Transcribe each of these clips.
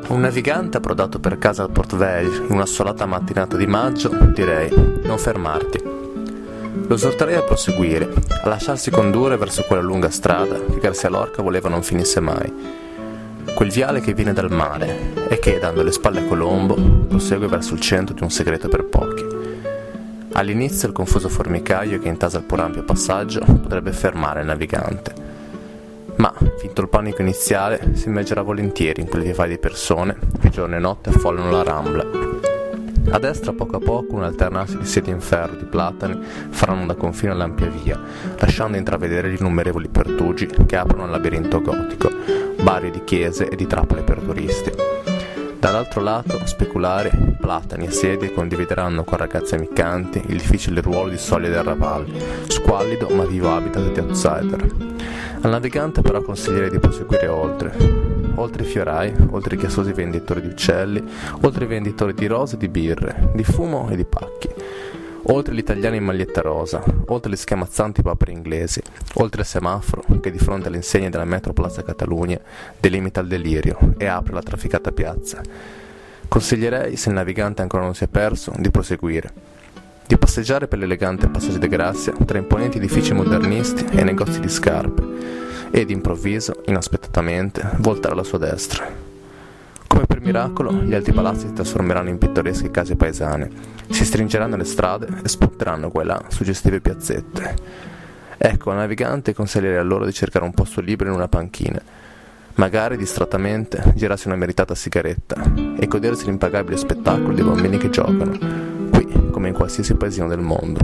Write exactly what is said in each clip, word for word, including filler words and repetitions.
Un navigante approdato per casa al Port Vell in una solata mattinata di maggio, direi, non fermarti. Lo esorterei a proseguire, a lasciarsi condurre verso quella lunga strada che Garcia Lorca voleva non finisse mai. Quel viale che viene dal mare e che, dando le spalle a Colombo, prosegue verso il centro di un segreto per pochi. All'inizio il confuso formicaio che intasa il pur ampio passaggio potrebbe fermare il navigante. Ma, finto il panico iniziale, si immergerà volentieri in quel vivai di persone che giorno e notte affollano la Rambla. A destra, poco a poco, un alternarsi di sedie in ferro di platani faranno da confine all'ampia via, lasciando intravedere gli innumerevoli pertugi che aprono al labirinto gotico, barri di chiese e di trappole per turisti. Dall'altro lato, speculari, platani e sedie condivideranno con ragazze ammiccanti il difficile ruolo di soglia del Raval, squallido ma vivo habitat di outsider. Al navigante però consiglierei di proseguire oltre, oltre i fiorai, oltre i chiassosi venditori di uccelli, oltre i venditori di rose e di birre, di fumo e di pacchi, oltre gli italiani in maglietta rosa, oltre le schiamazzanti papere inglesi, oltre il semaforo che di fronte alle insegne della metro Plaza Catalunya delimita il delirio e apre la trafficata piazza. Consiglierei, se il navigante ancora non si è perso, di proseguire, di passeggiare per l'elegante Passaggio de Grazia tra imponenti edifici modernisti e negozi di scarpe e, d'improvviso, inaspettatamente, voltare alla sua destra. Come per miracolo, gli alti palazzi si trasformeranno in pittoresche case paesane, si stringeranno le strade e spunteranno qua e là suggestive piazzette. Ecco, al navigante consiglierei allora di cercare un posto libero in una panchina, magari distrattamente girarsi una meritata sigaretta e godersi l'impagabile spettacolo dei bambini che giocano, qui come in qualsiasi paesino del mondo.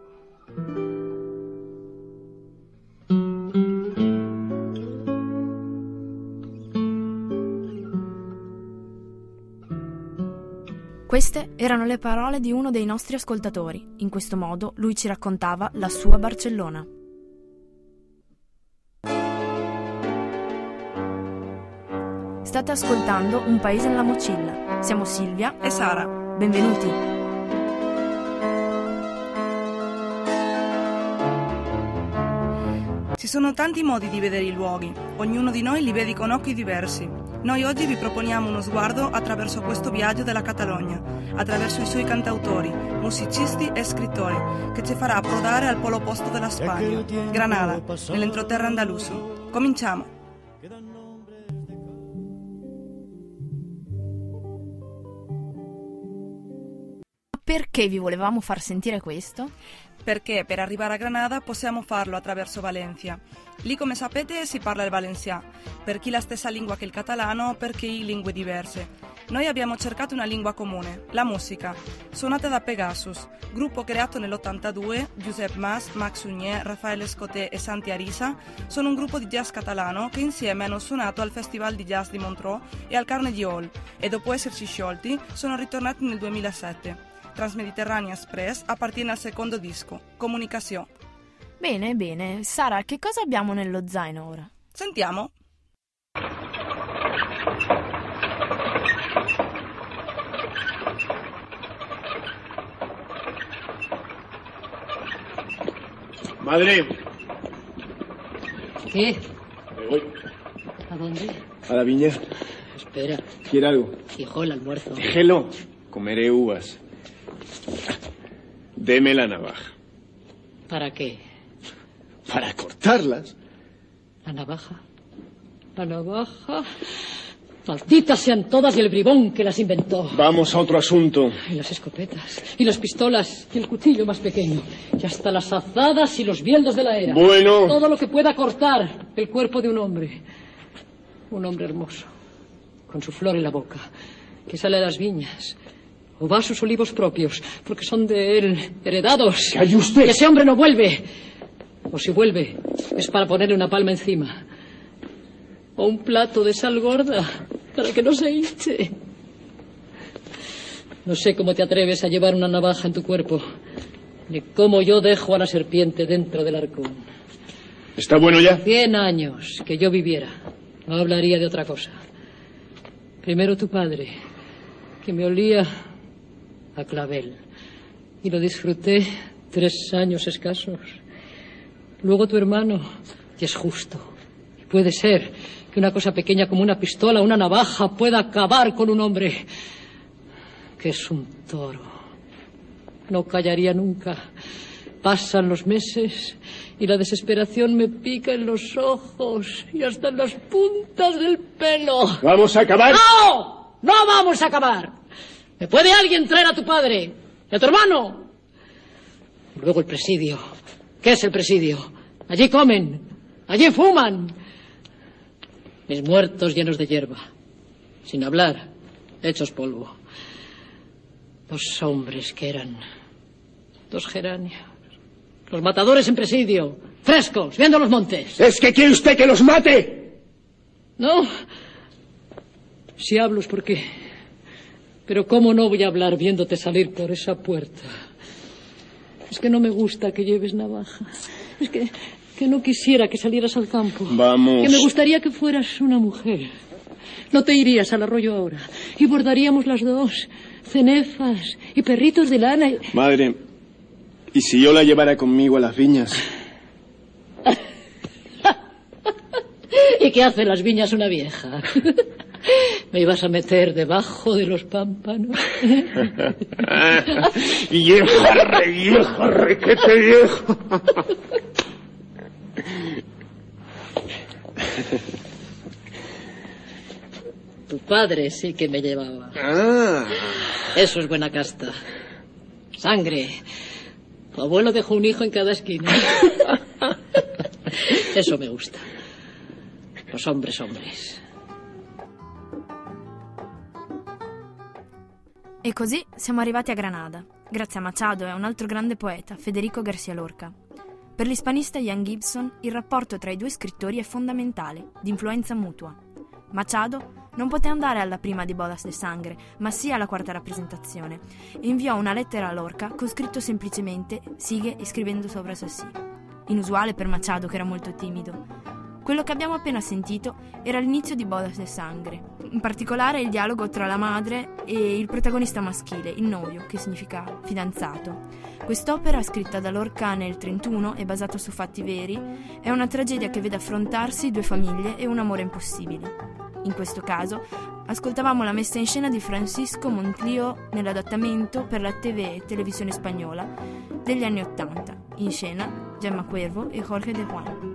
Queste erano le parole di uno dei nostri ascoltatori. In questo modo lui ci raccontava la sua Barcellona. State ascoltando Un Paese nella Mocilla. Siamo Silvia e Sara. Benvenuti. Ci sono tanti modi di vedere i luoghi, ognuno di noi li vede con occhi diversi. Noi oggi vi proponiamo uno sguardo attraverso questo viaggio della Catalogna, attraverso i suoi cantautori, musicisti e scrittori, che ci farà approdare al polo opposto della Spagna, Granada, nell'entroterra andaluso. Cominciamo! Perché vi volevamo far sentire questo? Perché per arrivare a Granada possiamo farlo attraverso Valencia. Lì, come sapete, si parla il valencià, per chi la stessa lingua che il catalano, per chi lingue diverse. Noi abbiamo cercato una lingua comune, la musica, suonata da Pegasus, gruppo creato nell'ottantadue. Josep Mas, Max Unier, Raffaele Escoté e Santi Arisa sono un gruppo di jazz catalano che insieme hanno suonato al Festival di Jazz di Montreux e al Carnegie Hall e dopo esserci sciolti sono ritornati nel duemilasette. Transmediterranea Express appartiene al secondo disco, Comunicazione. Bene, bene. Sara, che cosa abbiamo nello zaino ora? Sentiamo. Madre. ¿Qué? Me voy. ¿A dónde? A la viña. Espera. ¿Quiere algo? Hijo, el almuerzo. Déjelo. Comeré uvas. Deme la navaja. ¿Para qué? Para cortarlas. ¿La navaja? ¿La navaja? Malditas sean todas y el bribón que las inventó. Vamos a otro asunto. Y las escopetas, y las pistolas, y el cuchillo más pequeño, y hasta las azadas y los bieldos de la era. Bueno. Todo lo que pueda cortar el cuerpo de un hombre. Un hombre hermoso, con su flor en la boca, que sale a las viñas, o va a sus olivos propios, porque son de él, heredados. ¡Calle usted! Que ese hombre no vuelve. O si vuelve, es para ponerle una palma encima. O un plato de sal gorda, para que no se hinche. No sé cómo te atreves a llevar una navaja en tu cuerpo, ni cómo yo dejo a la serpiente dentro del arcón. ¿Está bueno ya? Cien años que yo viviera, no hablaría de otra cosa. Primero tu padre, que me olía a clavel, y lo disfruté tres años escasos. Luego tu hermano, y es justo, Puede ser que una cosa pequeña como una pistola, una navaja, pueda acabar con un hombre que es un toro. No callaría nunca. Pasan los meses y la desesperación me pica en los ojos y hasta en las puntas del pelo. ¿Vamos a acabar? ¡No! ¡No vamos a acabar! ¿Me puede alguien traer a tu padre y a tu hermano? Luego el presidio. ¿Qué es el presidio? Allí comen, allí fuman. Mis muertos llenos de hierba, sin hablar, hechos polvo. Dos hombres que eran dos geranios. Los matadores en presidio, frescos, viendo los montes. ¿Es que quiere usted que los mate? No. Si hablo es porque... Pero ¿cómo no voy a hablar viéndote salir por esa puerta? Es que no me gusta que lleves navaja. Es que, que no quisiera que salieras al campo. Vamos. Que me gustaría que fueras una mujer. No te irías al arroyo ahora. Y bordaríamos las dos. Cenefas y perritos de lana. Y... Madre, ¿y si yo la llevara conmigo a las viñas? ¿Y qué hace las viñas una vieja? ¿Me ibas a meter debajo de los pámpanos? ¡Vieja, re, vieja, requete viejo! Tu padre sí que me llevaba. Ah. Eso es buena casta. Sangre. Tu abuelo dejó un hijo en cada esquina. Eso me gusta. Los hombres, hombres. E così siamo arrivati a Granada, grazie a Machado e a un altro grande poeta, Federico García Lorca. Per l'ispanista Ian Gibson, il rapporto tra i due scrittori è fondamentale, di influenza mutua. Machado non poté andare alla prima di Bodas de Sangre, ma sì alla quarta rappresentazione, e inviò una lettera a Lorca con scritto semplicemente «Sigue scrivendo sopra eso sì», inusuale per Machado che era molto timido. Quello che abbiamo appena sentito era l'inizio di Bodas de Sangre, in particolare il dialogo tra la madre e il protagonista maschile, il novio, che significa fidanzato. Quest'opera, scritta da Lorca nel trentuno e basata su fatti veri, è una tragedia che vede affrontarsi due famiglie e un amore impossibile. In questo caso, ascoltavamo la messa in scena di Francisco Montlío nell'adattamento per la T V e televisione spagnola degli anni Ottanta, in scena Gemma Cuervo e Jorge de Juan.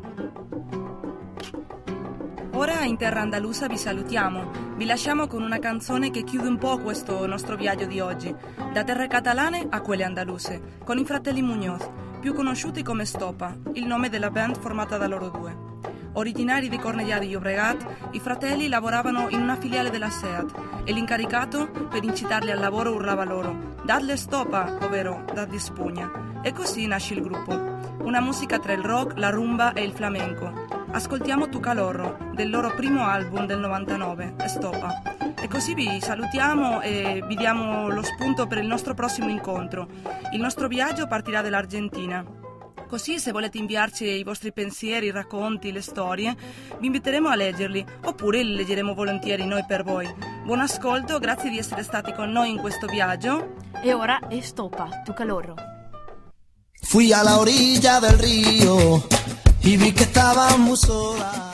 Ora in terra andalusa vi salutiamo, vi lasciamo con una canzone che chiude un po' questo nostro viaggio di oggi, da terre catalane a quelle andaluse, con i fratelli Muñoz, più conosciuti come Stopa, il nome della band formata da loro due. Originari di Cornellà di Llobregat, i fratelli lavoravano in una filiale della SEAT e l'incaricato, per incitarli al lavoro, urlava loro «Dadle stopa, ovvero dadli spugna». E così nasce il gruppo, una musica tra il rock, la rumba e il flamenco. Ascoltiamo Tu Calorro, del loro primo album del novantanove, Stopa. E così vi salutiamo e vi diamo lo spunto per il nostro prossimo incontro. Il nostro viaggio partirà dall'Argentina. Così, se volete inviarci i vostri pensieri, i racconti, le storie, vi inviteremo a leggerli, oppure li leggeremo volentieri noi per voi. Buon ascolto, grazie di essere stati con noi in questo viaggio. E ora Stopa, Tu Calorro. Fui a la orilla del río y vi que estaba muy sola.